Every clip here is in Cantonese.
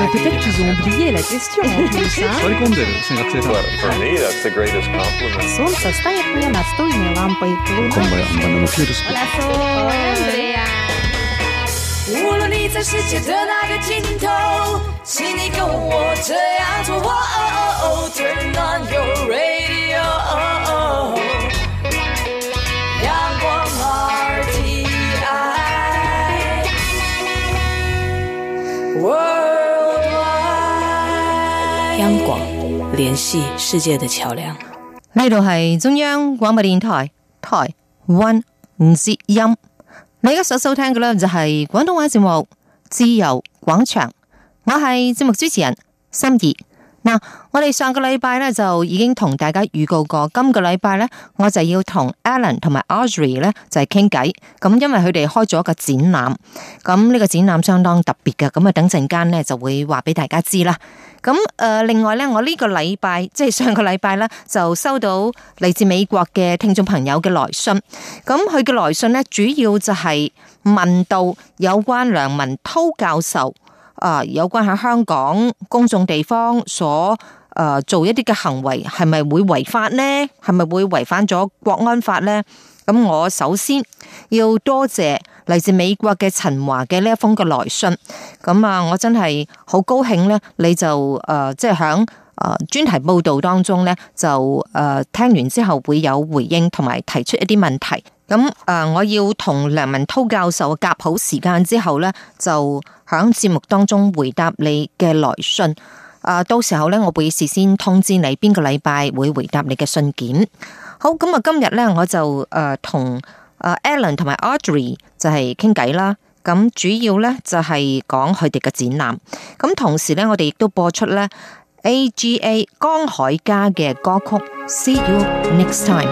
peut-être qu'ils ont oublié la question en plus. 割り込んでるですね、学生さん。 For me, that's the greatest compliment. Солнце стоит мне настольной лампой. こんばんは、バナナのピューロス。 Hola, Andrea. 无论你在世界的哪个尽头，请你跟我这样做。Turn on your radio. 阳光 RTI Worldwide。 央廣聯繫世界的橋樑。 呢度係中央廣播電台台灣之音。你而家所收聽嘅呢，就係廣東話節目《自由廣場》，我係節目主持人心怡。嗱，我哋上個禮拜呢，就已經同大家預告過，今個禮拜呢，我就要同 Alan 同埋 Audrey 呢，就係傾偈。咁因為佢哋開咗一個展覽，咁呢個展覽相當特別嘅，咁啊等陣間呢，就會話俾大家知啦。咁另外呢，我呢個禮拜即係上個禮拜呢，就收到嚟自美國嘅聽眾朋友嘅來信。咁佢嘅來信呢，主要就係問到有關梁文韜教授有關喺香港公眾地方所做一啲嘅行為，係咪會違法呢？係咪會違反咗國安法呢？咁我首先要多謝嚟自美國嘅陳華嘅呢一封嘅來信。咁我真係好高興呢，你就即係響專題報道當中呢，就聽完之後會有回應同埋提出一啲問題。咁我要同梁文韜教授夾好時間之後呢，就響節目當中回答你嘅來信。到時候呢，我會事先通知你邊個禮拜會回答你嘅信件。好，咁今日呢，我就同Alan 同埋 Audrey 就係傾偈啦。咁主要呢，就係講佢哋嘅展覽。咁同時呢，我哋亦都播出呢 AGA 江海嘉嘅歌曲 See You Next Time。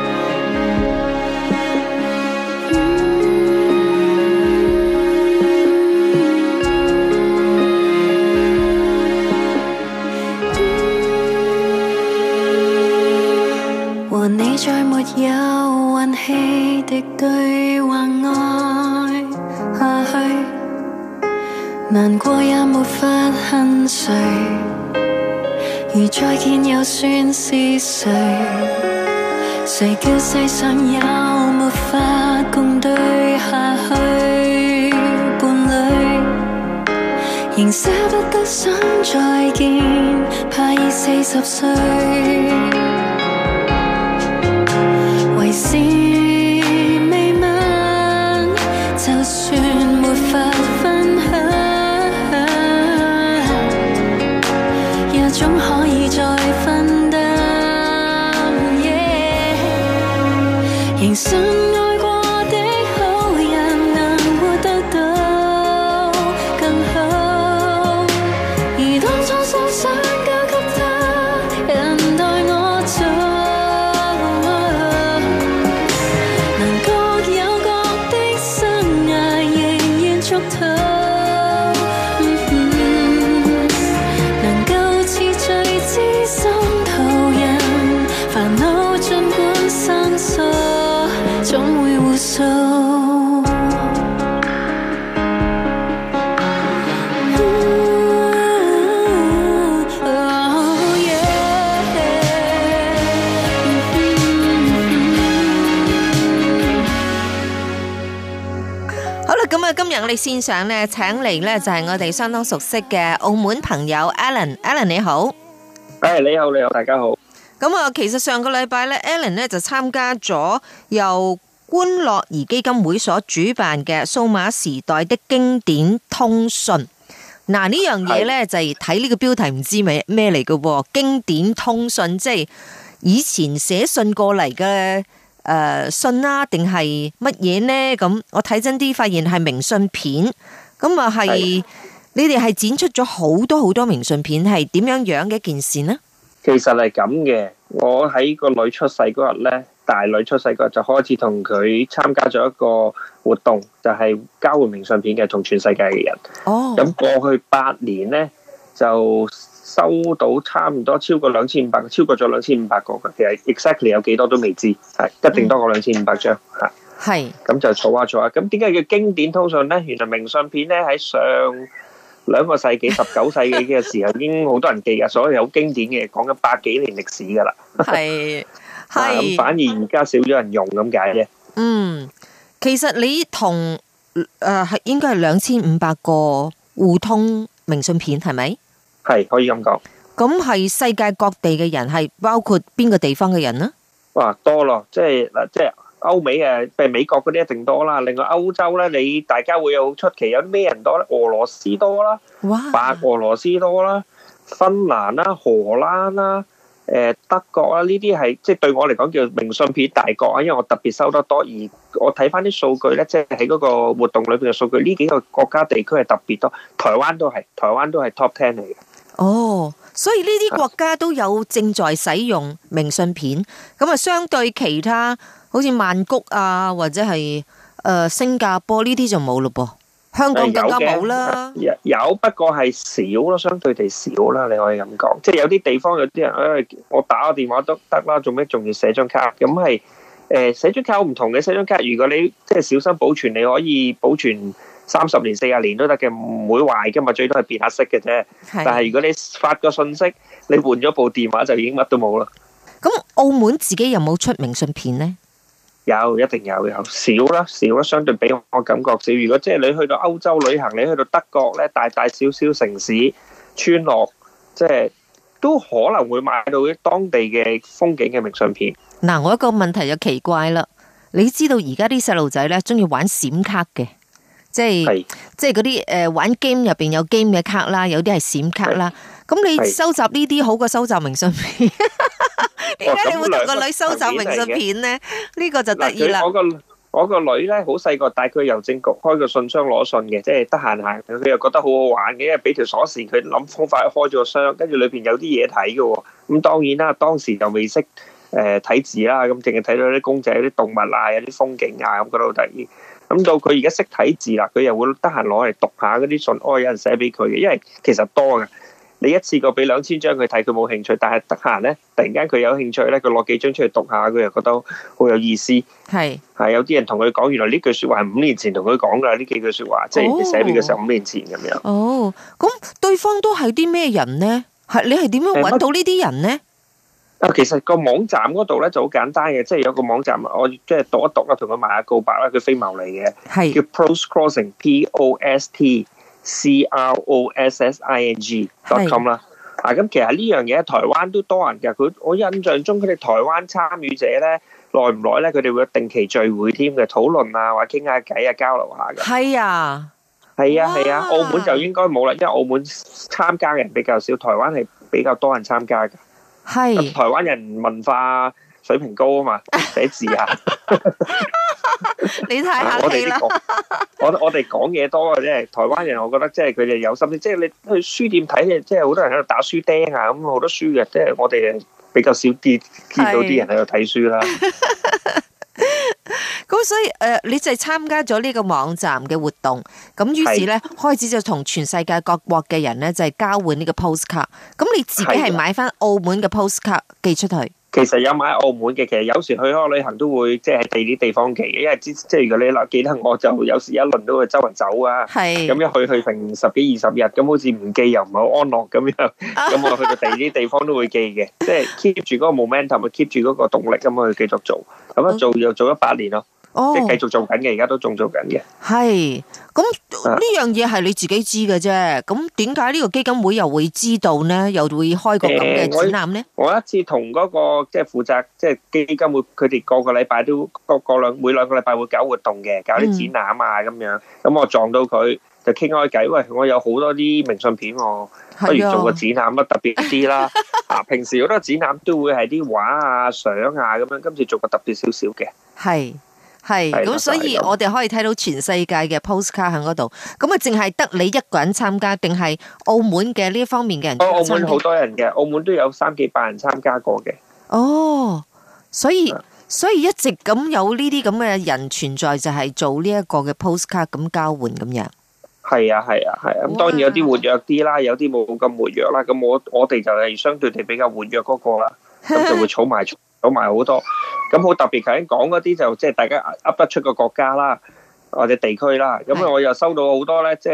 和你再沒有運氣的對話愛下去，難過也沒法恨誰，如再見又算是誰？誰叫世上有沒法共對下去？伴侶仍捨不得想再見，怕已40歲。為是未吻，就算沒法分享，也總可以再分擔。仍信愛過的好人能活得到更好，而當初所想交給他，人待我做。 今日我哋線上咧，請嚟咧就係我哋相當熟悉嘅澳門朋友 Alan。Alan 你好， 你好，大家好。 咁其實上個禮拜咧 ，Alan 咧就參加咗由觀樂兒基金會所主辦嘅數碼時代的經典通訊。嗱呢樣嘢咧就係睇呢個標題唔知咩嚟嘅喎，經典通訊即係以前寫信過嚟嘅。信啦，定係乜嘢呢？咁我睇真啲，發現係明信片。咁係你哋係展出咗好多明信片，係點樣嘅一件事呢？ 其實係咁嘅，我喺個女出世嗰日呢，大女出世嗰日就開始同佢參加咗一個活動，就係交換明信片嘅，同全世界嘅人。哦，咁過去8年呢，就收到差唔多超過2500個，超過咗2500個嘅。其實 exactly 有幾多都未知，係一定多過2500張嚇。係咁就儲下。咁點解叫經典通訊呢？原來明信片呢喺上 2個世紀19世紀嘅時候已經好多人記㗎，所以好經典嘅，講緊100幾年歷史㗎啦。 係咁反而而家少咗人用咁解啫。 其實你同係應該係2500個互通明信片係咪？係可以咁講。 咁係世界各地嘅人，係包括邊個地方嘅人呢？ 哇，多咯，即係歐美譬如美國嗰啲一定多啦。另外歐洲咧，大家會有好出奇，有啲咩人多咧？俄羅斯多啦，白俄羅斯多啦，芬蘭啦，荷蘭啦。德國啦，呢啲係即係對我嚟講叫明信片大國啊，因為我特別收得多，而我睇翻啲數據咧，即係喺嗰個活動裏邊嘅數據，呢幾個國家地區係特別多，台灣都係 Top 10嚟嘅。哦，所以呢啲國家都有正在使用明信片，咁啊相對其他好似曼谷啊或者係新加坡呢啲就冇咯噃。香港更加冇啦，有不過係少咯，相對地少啦，你可以咁講。即係有啲地方有啲人，我打個電話都得啦，做咩仲要寫張卡？咁係寫張卡好唔同嘅，寫張卡如果你即係小心保存，你可以保存30年、40年都得嘅，唔會壞㗎嘛，最多係變下色嘅啫。但係如果你發個信息，你換咗部電話就已經乜都冇啦。咁澳門自己有冇出明信片呢？有，一定有少啦，相對比我感覺少。如果即係你去到歐洲旅行，你去到德國咧，大小小城市村落，即係都可能會買到啲當地嘅風景嘅明信片。嗱，我一個問題就奇怪啦，你知道而家啲細路仔咧中意玩閃卡嘅，即係嗰啲玩 game 入邊有 game 嘅卡啦，有啲係閃卡啦。咁你收集呢啲好過收集明信片？點解你會同個女收集明信片呢？呢個就得意啦。我個女咧好細個，帶佢郵政局開個信箱攞信嘅，即係得閒行，佢又覺得好好玩嘅，因為俾條鎖匙佢諗方法開咗個箱，跟住裏邊有啲嘢睇嘅。咁當然啦，當時就未識睇字啦，咁淨係睇到啲公仔、有啲動物啊、有啲風景啊，咁覺得好得意。咁到佢而家識睇字啦，佢又會得閒攞嚟讀下嗰啲信，有人寫俾佢嘅，因為其實多嘅。你一次過俾2000張佢睇，佢冇興趣，但係得閒咧，突然間佢有興趣咧，佢攞幾張出嚟讀下，佢又覺得好有意思。係有啲人同佢講，原來呢句說話係5年前同佢講噶，呢幾句說話，即係你寫俾佢時候5年前咁樣。哦，咁對方都係啲咩人呢？你係點樣搵到呢啲人呢？其實個網站嗰度咧就好簡單嘅，即係有個網站，我即係讀一讀啦，同佢賣下告白啦，佢非牟利嘅，係叫 Postcrossing POSTCROSSING.com 啦。咁其實呢樣嘢台灣都多人㗎，我印象中佢哋台灣參與者咧，耐唔耐咧，佢哋會有定期聚會添嘅，討論啊，或者傾下偈啊，交流下嘅。係啊，澳門就應該冇啦，因為澳門參加嘅人比較少，台灣係比較多人參加㗎。係台灣人文化水平高啊嘛，寫字啊。你太客氣啦！我哋講嘢多嘅啫，台灣人我覺得即係佢哋有心思，即係你去書店睇嘅，即係好多人喺度打書釘啊，咁好多書嘅，即係我哋比較少見到啲人喺度睇書啦。咁所以你就係參加咗呢個網站嘅活動，咁於是咧開始就同全世界各國嘅人咧就係交換呢個 postcard。咁你自己係買翻澳門嘅 postcard 寄出去？其實有買澳門嘅，其實有時去開旅行都會即係喺第啲地方寄嘅，因為即係如果你記得我就有時一輪都會周圍走啊。係咁一去成10幾20日，咁好似唔寄又唔係好安樂咁樣。咁我去到第二啲地方都會寄嘅，即係 keep 住嗰個 momentum，keep 住嗰個動力咁去繼續做。咁一做又做咗8年咯。即係繼續做緊嘅，而家都仲做緊嘅。係咁呢樣嘢係你自己知嘅啫。咁點解呢個基金會又會知道呢？又會開個咁嘅展覽呢？我一次同嗰個即係負責即係基金會，佢哋個個禮拜都每兩個禮拜會搞活動嘅，搞啲展覽啊咁樣。咁我撞到佢就傾開偈，喂，我有好多啲明信片，我不如做個展覽乜特別啲啦。平時好多展覽都會係啲畫啊、相啊咁樣，今次做個特別少少嘅。係。咁所以我哋可以睇到全世界嘅 postcard 喺嗰度。咁啊，淨係得你一個人參加，定係澳門嘅呢一方面嘅人？澳門好多人嘅，澳門都有300-400人參加過嘅。哦，所以一直咁有呢啲咁嘅人存在，就係做呢一個嘅 postcard 咁交換咁樣。係啊。咁當然有啲活躍啲啦，有啲冇咁活躍啦。咁我哋就係相對地比較活躍嗰個啦，咁就會儲埋好多。咁好特別，頭先講嗰啲就即係大家噏得出個國家啦，或者地區啦。咁我又收到好多咧，即係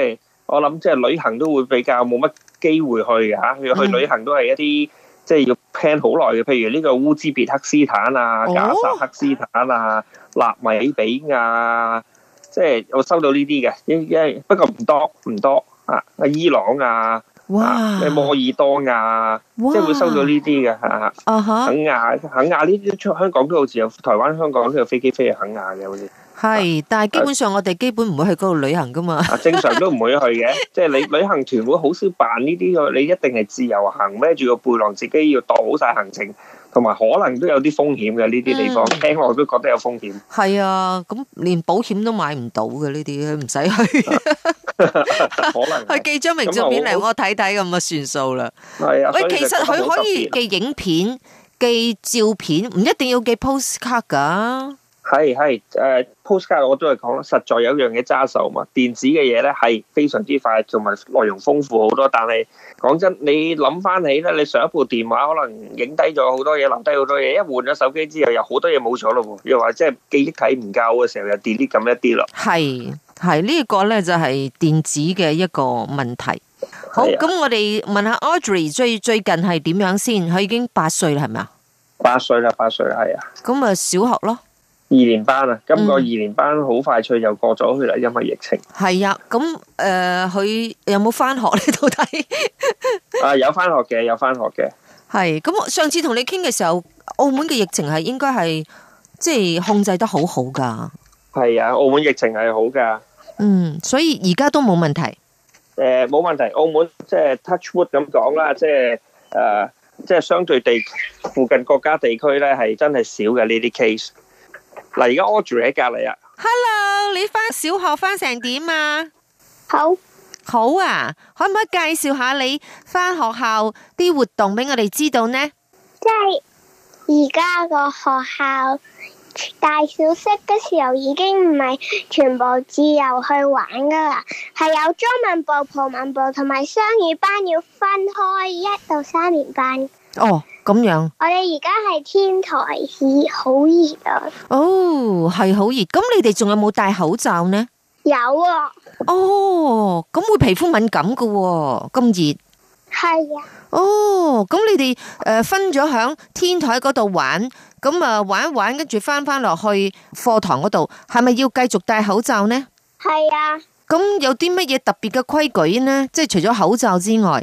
我諗即係旅行都會比較冇乜機會去嘅嚇。去旅行都係一啲即係要 plan 好耐嘅，譬如呢個烏茲別克斯坦啊、賈薩克斯坦啊、納米比亞，即係我收到呢啲嘅，因為不過唔多啊，伊朗啊。哇！咩摩爾多瓦，即係會收到呢啲嘅嚇。肯亞呢啲出香港都好似有，台灣香港都有飛機飛去肯亞嘅好似。 係，但係基本上我哋基本唔會去嗰度旅行噶嘛。 正常都唔會去嘅，即係你旅行團會好少辦呢啲嘅，你一定係自由行，孭住個背囊，自己要度好晒行程，同埋可能都有啲風險嘅呢啲地方，聽落都覺得有風險。係啊，咁連保險都買唔到嘅呢啲，唔使去。可能佢寄張明信片嚟我睇睇咁啊，算數啦。係啊，喂，其實佢可以寄影片、寄照片，唔一定要寄 postcard 噶。係 postcard 我都係講啦，實在有樣嘢揸手嘛。電子嘅嘢咧係非常之快，同埋內容豐富好多。但係講真，你諗翻起咧，你上一部電話可能影低咗好多嘢，留低好多嘢，一換咗手機之後，又好多嘢冇咗咯喎。又話即係記憶體唔夠嘅時候，又 delete 咁一啲咯。係呢個咧就係電子嘅一個問題。好，咁我哋問下 Audrey 最近係點樣先？佢已經8歲啦，係咪啊？8歲啦，係啊。咁啊，小學咯。2年班啊，今個2年班好快脆就過咗去啦，因為疫情。係啊，咁佢有冇翻學咧？到底？有翻學嘅。係，咁我上次同你傾嘅時候，澳門嘅疫情係應該係即係控制得好好噶。係啊，澳門疫情係好噶。所以而家都冇問題。冇問題，澳門即係 touch wood 咁講啦，即係相對地附近國家地區咧係真係少嘅呢啲 case。嗱，而家 Audrey 喺隔籬啊。Hello， 你翻小學翻成點啊？好啊，可唔可以介紹下你翻學校啲活動俾我哋知道呢？ 即係而家個學校大小息嘅時候已經唔係全部自由去玩噶啦，係有中文部、葡文部同埋雙語班要分開1到3年班。哦，咁樣。我哋而家係天台市，好熱啊。哦，係好熱。咁你哋仲有冇戴口罩呢？有啊。哦，咁會皮膚敏感噶喎，咁熱。係啊。哦，咁你哋分咗響天台嗰度玩，咁啊玩一玩，跟住翻落去課堂嗰度，係咪要繼續戴口罩呢？係啊。咁有啲乜嘢特別嘅規矩呢？即係除咗口罩之外。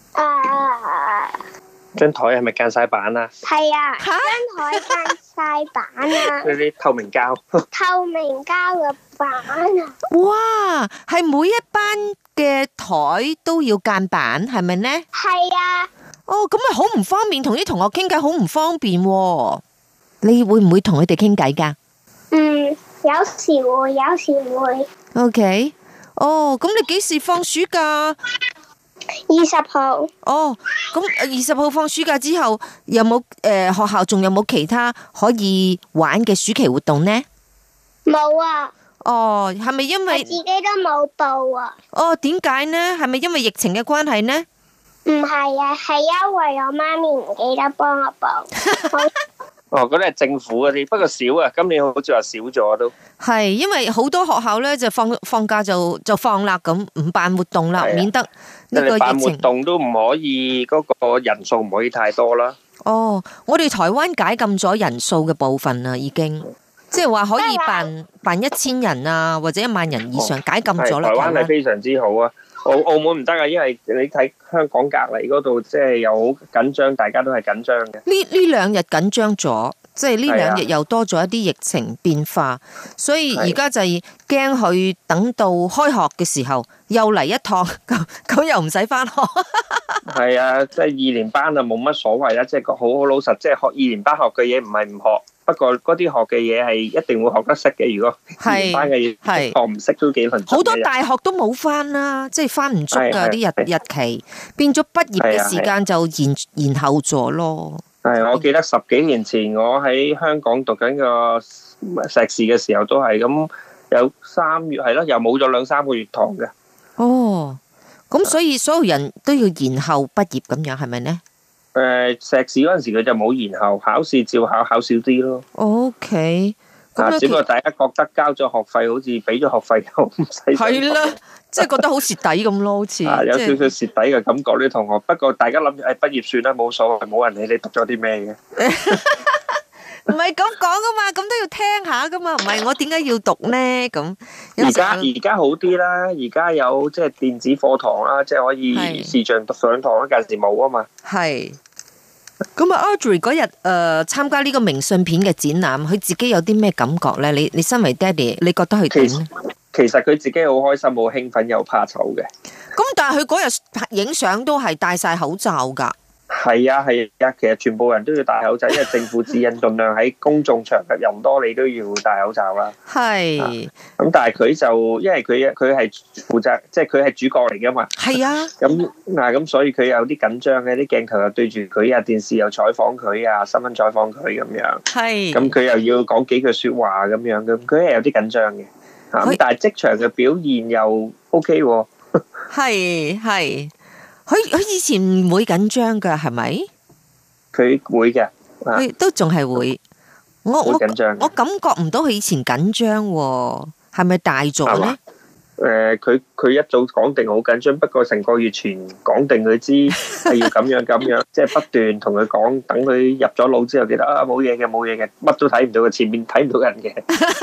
張台係咪間晒板啊？係啊，張台間晒板啊！嗰啲透明膠嘅板啊！哇，係每一班嘅台都要間板，係咪呢？係啊。哦，咁咪好唔方便，同啲同學傾偈好唔方便喎。你會唔會同佢哋傾偈噶？有時會，有時唔會。OK。哦，咁你幾時放暑假？20號。哦，咁20號放暑假之後，有冇學校仲有冇其他可以玩嘅暑期活動呢？冇啊。哦，係咪因為我自己都冇報啊？哦，點解呢？係咪因為疫情嘅關係呢？唔係啊，係因為我媽咪唔記得幫我報。哦，嗰啲係政府嗰啲，不過少啊。今年好似話少咗都。係，因為好多學校咧就放假就放啦，咁唔辦活動啦，免得呢個疫情。辦活動都唔可以，嗰個人數唔可以太多啦。哦，我哋台灣解禁咗人數嘅部分啦，已經，即係話可以辦1000人啊，或者1萬人以上，解禁咗啦。台灣係非常之好啊。澳門唔得啊，因為你睇香港隔籬嗰度，即係又好緊張，大家都係緊張嘅。呢2日緊張咗，即係呢2日又多咗一啲疫情變化，所以而家就係驚佢等到開學嘅時候又嚟一趟，咁又唔使翻學。係啊，即係2年班啊，冇乜所謂啦，即係好老實，即係學2年班學嘅嘢唔係唔學。不過嗰啲學嘅嘢係一定會學得識嘅，如果2年班嘅嘢學唔識都幾難。好多大學都冇翻啦，即係翻唔足噶啲日期，變咗畢業嘅時間就延後咗咯。係，我記得10幾年前我喺香港讀緊個碩士嘅時候都係咁，有3月係咯，又冇咗2-3個月堂嘅。哦，咁所以所有人都要延後畢業咁樣，係咪呢？碩士嗰陣時佢就冇延後，考試照考少啲咯。OK， 只不過大家覺得交咗學費，好似俾咗學費又唔使。 係啦，即係覺得好蝕底咁咯，好似。 有少少蝕底嘅感覺啲同學。不過大家諗住，畢業算啦，冇所謂，冇人理你讀咗啲咩嘅。 唔係咁講噶嘛，咁都要聽下噶嘛，唔係我點解要讀呢？咁而家好啲啦，而家有即係電子課堂啦，即係可以視像上堂，嗰陣時冇啊嘛。係。 咁啊 ，Audrey 嗰日參加呢個明信片嘅展覽，佢自己有啲咩感覺咧？你身為爹哋，你覺得佢點咧？ 其實佢自己好開心、好興奮又怕醜嘅。 咁但係佢嗰日影相都係戴晒口罩噶。 係啊，其實全部人都要戴口罩，因為政府指引盡量喺公眾場合人多，你都要戴口罩啦。係。咁但係佢就因為佢係負責，即係佢係主角嚟噶嘛。係啊。咁所以佢有啲緊張嘅，啲鏡頭又對住佢啊，電視又採訪佢啊，新聞採訪佢咁樣。係。咁佢又要講幾句說話咁樣，咁佢係有啲緊張嘅。咁但係職場嘅表現又 OK 喎。係。佢以前唔會緊張噶，係咪？佢會嘅，佢都仲係會。我緊張，我感覺唔到佢以前緊張，係咪大咗咧？ 佢一早講定好緊張，不過成個月前講定佢知係要咁樣，即係不斷同佢講，等佢入咗腦之後，記得啊冇嘢嘅，乜都睇唔到嘅，前面睇唔到人嘅。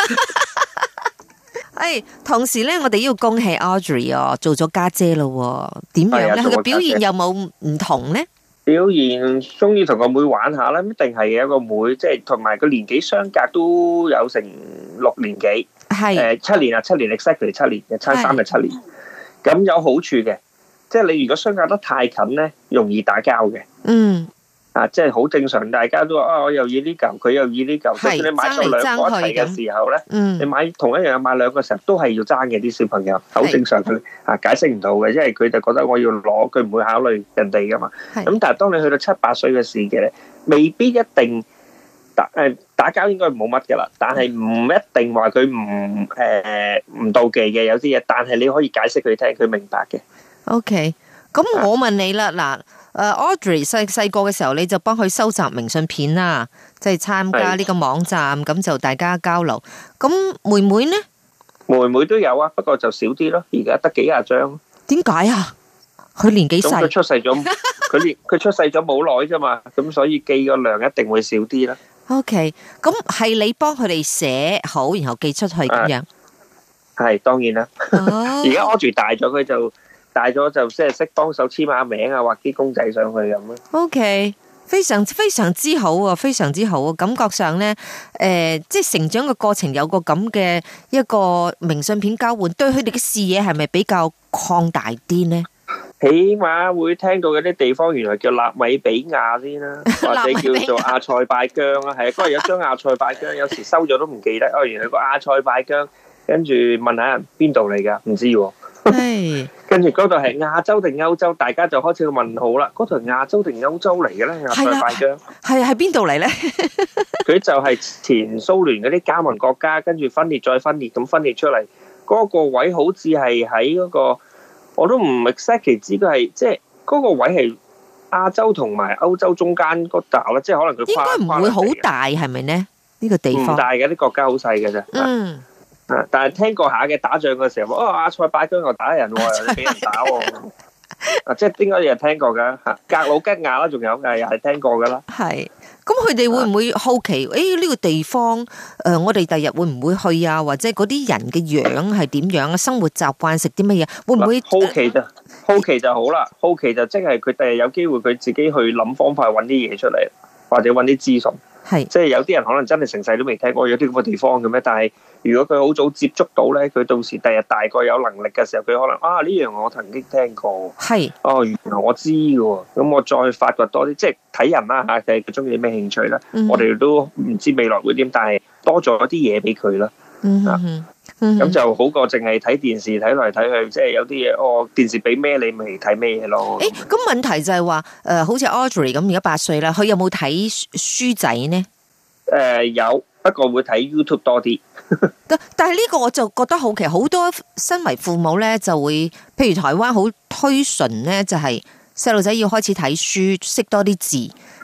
同時咧，我哋要恭喜 Audrey 做咗家姐咯，點樣咧？佢嘅表現有冇唔同咧？ 表現中意同個妹玩下啦，一定係嘅。一個妹，即係同埋個年紀相隔都有成6年幾，係7年exactly 7年嘅，差3日7年。咁有好處嘅，即係你如果相隔得太近咧，容易打交嘅。即係好正常，大家都話我又要呢嚿，佢又要呢嚿。就算你買咗兩個一齊嘅時候咧，你買同一樣買兩個時候都係要爭嘅，啲小朋友好正常嘅。解釋唔到嘅，因為佢就覺得我要攞，佢唔會考慮人哋噶嘛。咁但係當你去到7、8歲嘅時嘅咧，未必一定打交，應該冇乜噶啦。但係唔一定話佢唔妒忌嘅，有啲嘢，但係你可以解釋佢聽，佢明白嘅。 OK，咁我問你啦，嗱。Audrey 細個嘅時候，你就幫佢收集明信片啦，即係參加呢個網站，咁就大家交流。咁妹妹呢？ 妹妹都有啊，不過就少啲咯。而家得幾廿張。 點解啊？佢年紀細。 佢出世咗，佢出世咗冇耐啫嘛，咁所以寄個量一定會少啲啦。 OK，咁係你幫佢哋寫好，然後寄出去咁樣。 係當然啦。而家 Audrey 大咗，佢就。大咗就即係識幫手簽下名啊，畫啲公仔上去咁咯。OK， 非常之好啊，非常之好啊！感覺上咧，即係成長嘅過程有個咁嘅一個明信片交換，對佢哋嘅視野係咪比較擴大啲呢？ 起碼會聽到有啲地方原來叫納米比亞先啦，或者叫做阿塞拜疆啦。係啊，嗰日有張阿塞拜疆，有時收咗都唔記得。哦，原來個阿塞拜疆，跟住問下人邊度嚟噶，唔知喎。跟住嗰度係亞洲定歐洲，大家就開始個問號啦。嗰度係亞洲定歐洲嚟嘅咧？阿塞拜疆係邊度嚟咧？佢就係前蘇聯嗰啲加盟國家，跟住分裂再分裂咁分裂出嚟。嗰個位好似係喺嗰個，我都唔 exactly 知佢係即係嗰個位係亞洲同埋歐洲中間嗰度啦，即係可能佢應該唔會好大，係咪呢？呢個地方唔大嘅，啲國家好細嘅啫。但係聽過下嘅，打仗嘅時候，阿塞拜疆又打人喎，又俾人打喎，即係應該有人聽過噶吓，格魯吉亞啦，仲有又係聽過噶啦。係，咁佢哋會唔會好奇？呢個地方我哋第日會唔會去啊？或者嗰啲人嘅樣係點樣啊？生活習慣食啲乜嘢？會唔會好奇就好啦？好奇就即係佢第日有機會佢自己去諗方法揾啲嘢出嚟，或者揾啲資訊。係，即係有啲人可能真係成世都未聽過有啲咁嘅地方嘅咩？但係如果佢好早接觸到咧，佢到時第日大概有能力嘅時候，佢可能呢樣我曾經聽過。係，原來我知嘅喎，咁我再發掘多啲，即係睇人啦嚇，佢中意啲咩興趣啦。我哋都唔知未來會點，但係多咗啲嘢俾佢啦。咁就好過淨係睇電視睇嚟睇去，即係有啲嘢電視俾咩你咪睇咩嘢咯。 咁問題就係話好似 Audrey 咁而家8歲啦，佢有冇睇書仔呢？ 有，不過會睇 YouTube 多啲。 但係呢個我就覺得好奇，好多身為父母咧就會，譬如台灣好推崇咧，就係細路仔要開始睇書，識多啲字。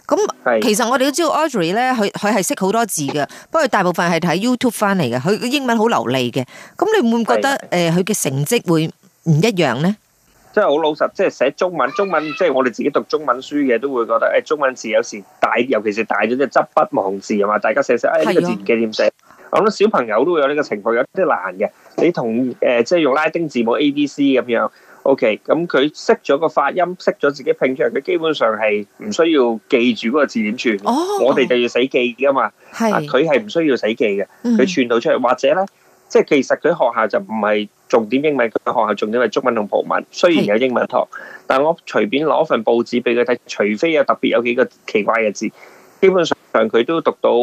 咁其實我哋都知道 Audrey 咧，佢係識好多字嘅，不過大部分係睇 YouTube 翻嚟嘅，佢英文好流利嘅。咁你會唔會覺得佢嘅成績會唔一樣咧？ 即係好老實，即係寫中文，即係我哋自己讀中文書嘅都會覺得中文字有時大，尤其是大咗即係執筆忘字啊嘛，大家寫呢個字唔記得點寫。我諗小朋友都會有呢個情況，有啲難嘅。你同即係用拉丁字母 ABC 咁樣。OK， 咁佢識咗個發音，識咗自己拼出嚟，佢基本上係唔需要記住嗰個字點串。我哋就要死記噶嘛。佢係唔需要死記嘅，佢串到出嚟。或者咧，即係其實佢學校就唔係重點英文，佢學校重點係中文同葡文。雖然有英文堂，但我隨便攞份報紙俾佢睇，除非有特別有幾個奇怪嘅字，基本上佢都讀到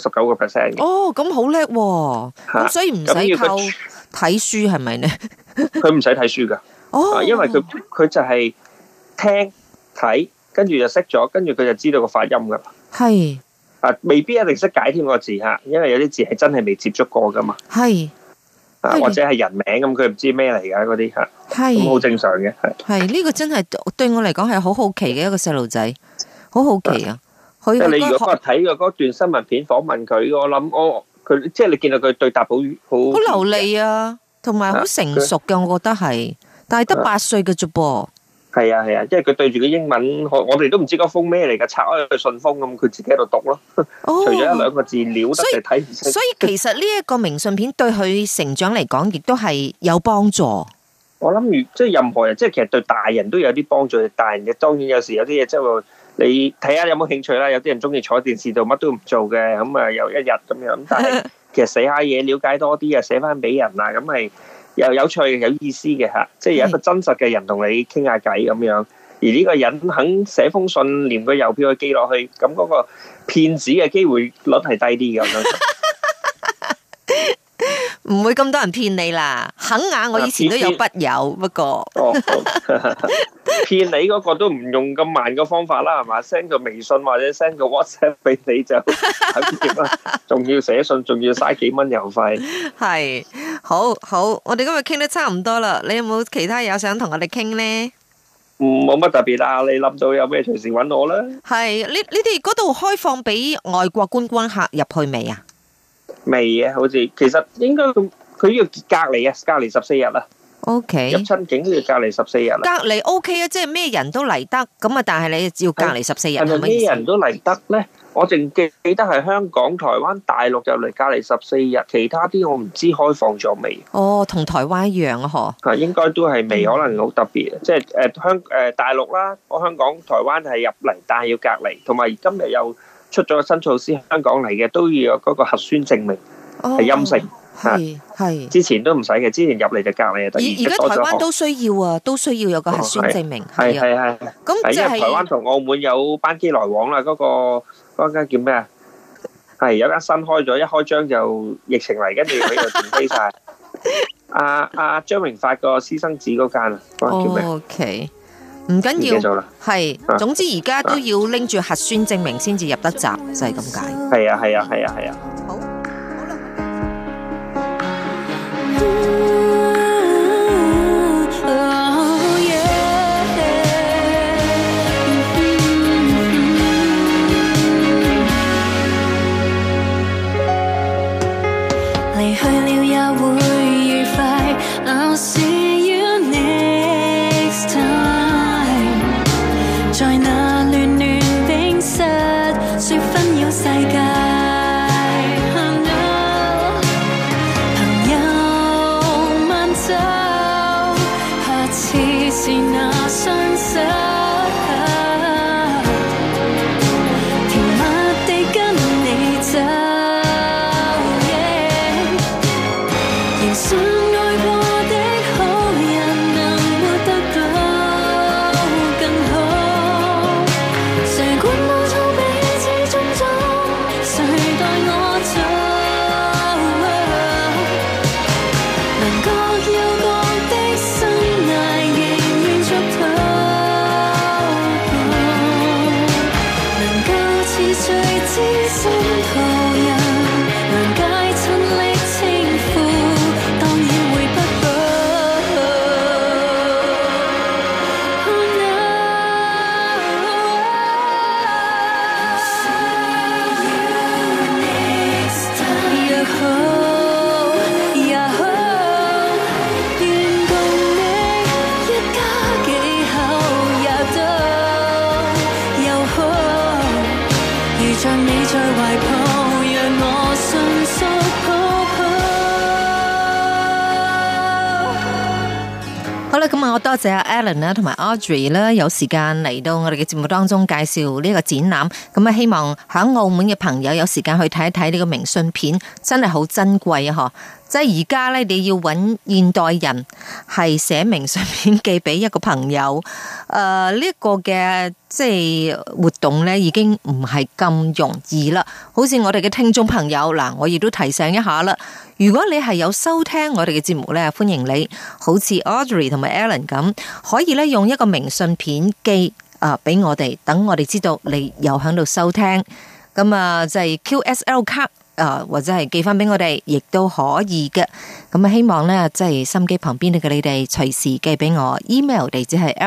99%嘅。 哦，咁好叻喎！咁所以唔使靠睇書係咪咧？ 佢唔使睇書噶。因為佢就係聽睇，跟住就識咗，跟住佢就知道個發音噶啦。 係未必一定識解添個字吓，因為有啲字係真係未接觸過噶嘛。 係或者係人名咁，佢唔知咩嚟噶嗰啲吓，咁好正常嘅。 係呢個真係對我嚟講係好好奇嘅一個細路仔，好好奇啊！ 即係你如果睇嘅嗰段新聞片訪問佢，我諗佢即係你見到佢對答好流利啊，同埋好成熟嘅，我覺得係。但係得8歲嘅啫噃， 係啊，因為佢對住個英文，我哋都唔知嗰封咩嚟㗎，拆開佢信封咁，佢自己喺度讀咯。除咗1-2個字撩得就睇唔清。 所以其實呢一個明信片對佢成長嚟講，亦都係有幫助。 我諗即係任何人，即係其實對大人都有啲幫助。大人嘅當然有時有啲嘢即係話你睇下有冇興趣啦。有啲人中意坐喺電視度乜都唔做嘅，咁啊又一日咁樣。但係其實寫下嘢，了解多啲啊，寫翻俾人啊，咁係。又有趣有意思嘅吓，即係有一個真實嘅人同你傾下偈咁樣，而呢個人肯寫封信，連個郵票去寄落去，咁嗰個騙子嘅機會率係低啲嘅。 唔會咁多人騙你啦，肯雅我以前都有筆友，不過騙你嗰個都唔用咁慢嘅方法啦，係嘛？send 個微信或者 send 個 WhatsApp 俾你就搞掂啦，仲要寫信，仲要嘥幾蚊郵費。 係好，我哋今日傾得差唔多啦，你有冇其他嘢想同我哋傾呢？ 冇乜特別啦，你諗到有咩隨時搵我啦。係， 你哋嗰度開放俾外國觀光客入去未啊？ 未啊，好似其實應該佢要隔離啊，隔離14日啦。 OK， 入親境都要隔離14日啦。 隔離 OK 啊，即係咩人都嚟得，咁啊，但係你要隔離14日。 係咪咩人都嚟得咧？我淨記得係香港、台灣、大陸入嚟隔離14日，其他啲我唔知開放咗未。 哦，同台灣一樣啊，嗬。 應該都係未，可能好特別。即係大陸啦，我香港、台灣係入嚟，但係要隔離，同埋今日又出咗個新措施，香港嚟嘅都要有嗰個核酸證明係陰性。 係之前都唔使嘅，之前入嚟就隔離就得。 而家台灣都需要啊，都需要有個核酸證明。 係。 咁即係台灣同澳門有班機來往啦，嗰間叫咩啊？係有間新開咗，一開張就疫情嚟，跟住佢就停飛晒。阿張榮發個私生子嗰間啊，嗰間叫咩 ？OK，唔緊要，係，總之而家都要拎住核酸證明先至入得閘，就係咁解。 係啊。 好。 離去了也會愉快 I'll see you next time 在那亂亂冰室說紛擾世界 朋友慢走下次是那雙手甜蜜地跟你走相愛過的好人能活得到更好，誰管當初彼此種種，誰代我做？能各有各的生涯，仍願續途，能夠似最知心途人，諒解親昵稱呼。 咁我多謝阿 Alan 啦，同埋 Audrey 啦，有時間嚟到我哋嘅節目當中介紹呢個展覽。咁啊，希望喺澳門嘅朋友有時間去睇一睇呢個明信片，真係好珍貴啊！嗬，即係而家咧，你要揾現代人係寫明信片寄俾一個朋友，呢一個嘅即係活動咧，已經唔係咁容易啦。好似我哋嘅聽眾朋友嗱，我亦都提醒一下啦。如果你係有收聽我哋嘅節目咧，歡迎你，好似 Audrey 同埋 Alan 咁，可以咧用一個明信片寄俾我哋，等我哋知道你有喺度收聽。咁啊，就係 QSL 卡或者係寄翻俾我哋，亦都可以嘅。咁啊，希望咧即係心機旁邊嘅你哋隨時寄俾我。email 地址係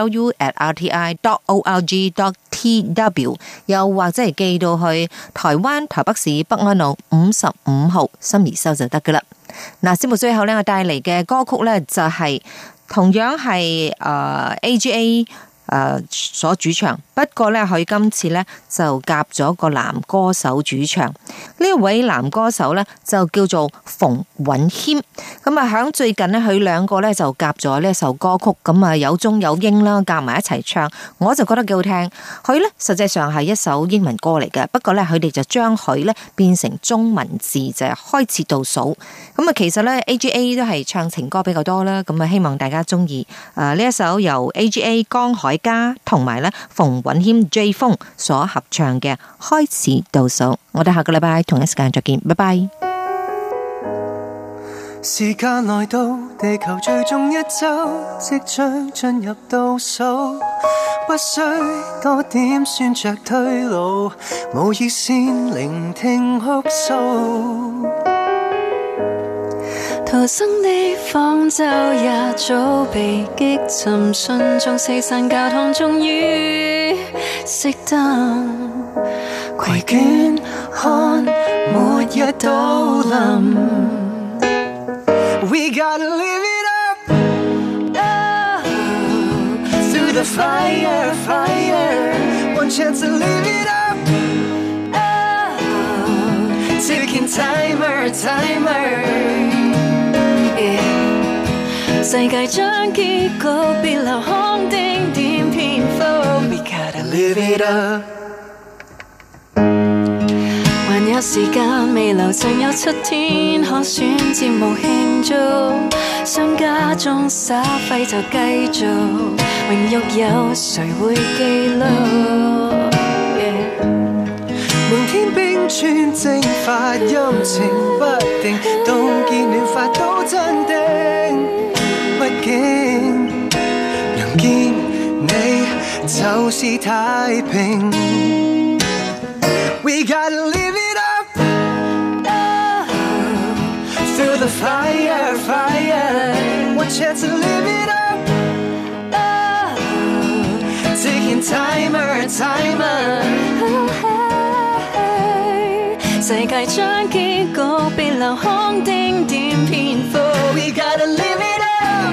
lulu@rti.org.tw， 又或者係寄到去台灣台北市北安路55號心怡收就得噶啦。嗱，節目最後咧，我帶嚟嘅歌曲咧就係同樣係AGA 所主唱，不過咧佢今次咧就夾咗個男歌手主唱。呢位男歌手咧就叫做馮允謙。咁啊響最近咧佢兩個咧就夾咗呢一首歌曲，咁啊有中有英啦，夾埋一齊唱，我就覺得幾好聽。佢咧實際上係一首英文歌嚟嘅，不過咧佢哋就將佢咧變成中文字，就係開始倒數。咁啊其實咧 AGA 都係唱情歌比較多啦，咁啊希望大家中意呢一首由 AGA 江海嘉同埋咧馮允謙 J 風所合唱嘅開始倒數。我哋下個禮拜同一時間再見，拜拜。 時間來到，地球最終一周即將進入倒數，不需多點算着退路，無意先聆聽哭訴。 逃生的方舟也早被擊沉，順從四散教堂終於熄燈，攜倦看末日到臨。 We gotta live it up, oh, through the fire, one chance to live it up, oh, ticking timer, yeah. 世界將結局別留空丁點篇幅 We gotta live it up。還有時間未留，剩有7天可選節目慶祝，商家中耍廢就繼續，榮辱有誰會記錄？ 明天冰川蒸發，陰晴不定，凍結暖發都鎮定，畢竟能見你就是太平。We gotta live it up, oh, through the fire, one chance to live it up, oh, ticking timer, hey, 世界將結局別留空丁點篇幅 We gotta live it up，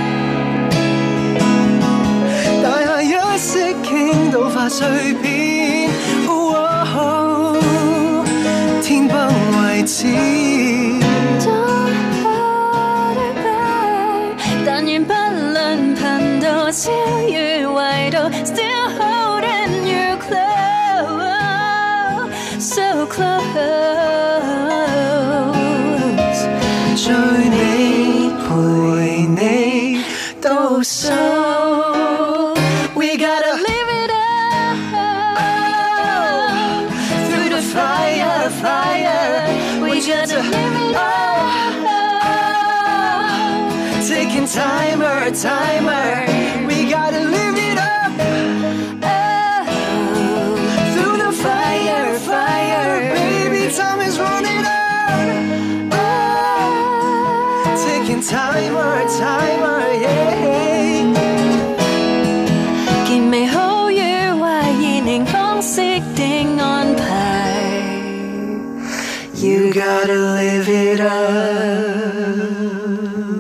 大廈一息傾倒化碎片，天崩為止。 但願不論頻道超越緯度 Still holding you close, so close， 追你陪你倒數。We gotta live it up, through the fire, we gotta live it up, taking timer, we gotta live it up, through the fire, baby time is running out, taking timer, yeah， 見美好與壞已凝方式的安排。 You gotta live it up。